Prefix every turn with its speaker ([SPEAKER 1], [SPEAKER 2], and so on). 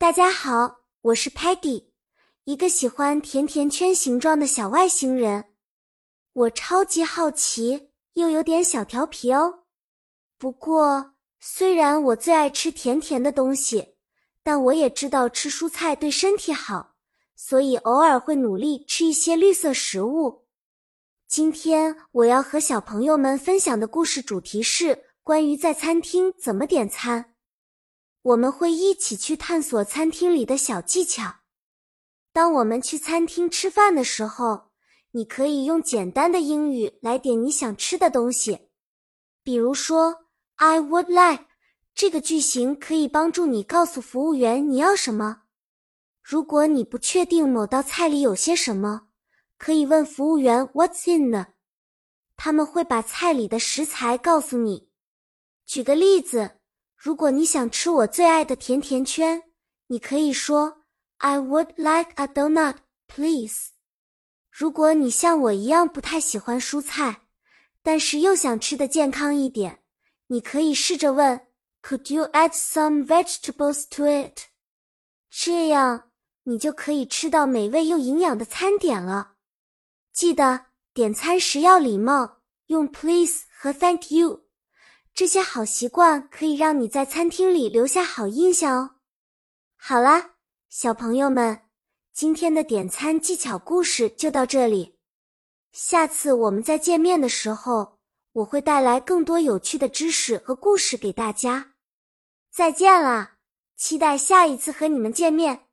[SPEAKER 1] 大家好，我是 Peggy， 一个喜欢甜甜圈形状的小外星人。我超级好奇，又有点小调皮哦。不过，虽然我最爱吃甜甜的东西，但我也知道吃蔬菜对身体好，所以偶尔会努力吃一些绿色食物。今天我要和小朋友们分享的故事主题是关于在餐厅怎么点餐。我们会一起去探索餐厅里的小技巧。当我们去餐厅吃饭的时候，你可以用简单的英语来点你想吃的东西。比如说 I would like 这个句型可以帮助你告诉服务员你要什么。如果你不确定某道菜里有些什么，可以问服务员 What's in it？ 他们会把菜里的食材告诉你。举个例子，如果你想吃我最爱的甜甜圈，你可以说 I would like a donut, please。 如果你像我一样不太喜欢蔬菜，但是又想吃得健康一点，你可以试着问 Could you add some vegetables to it？ 这样你就可以吃到美味又营养的餐点了。记得点餐时要礼貌，用 please 和 thank you。这些好习惯可以让你在餐厅里留下好印象哦。好啦，小朋友们，今天的点餐技巧故事就到这里。下次我们再见面的时候，我会带来更多有趣的知识和故事给大家。再见啦，期待下一次和你们见面。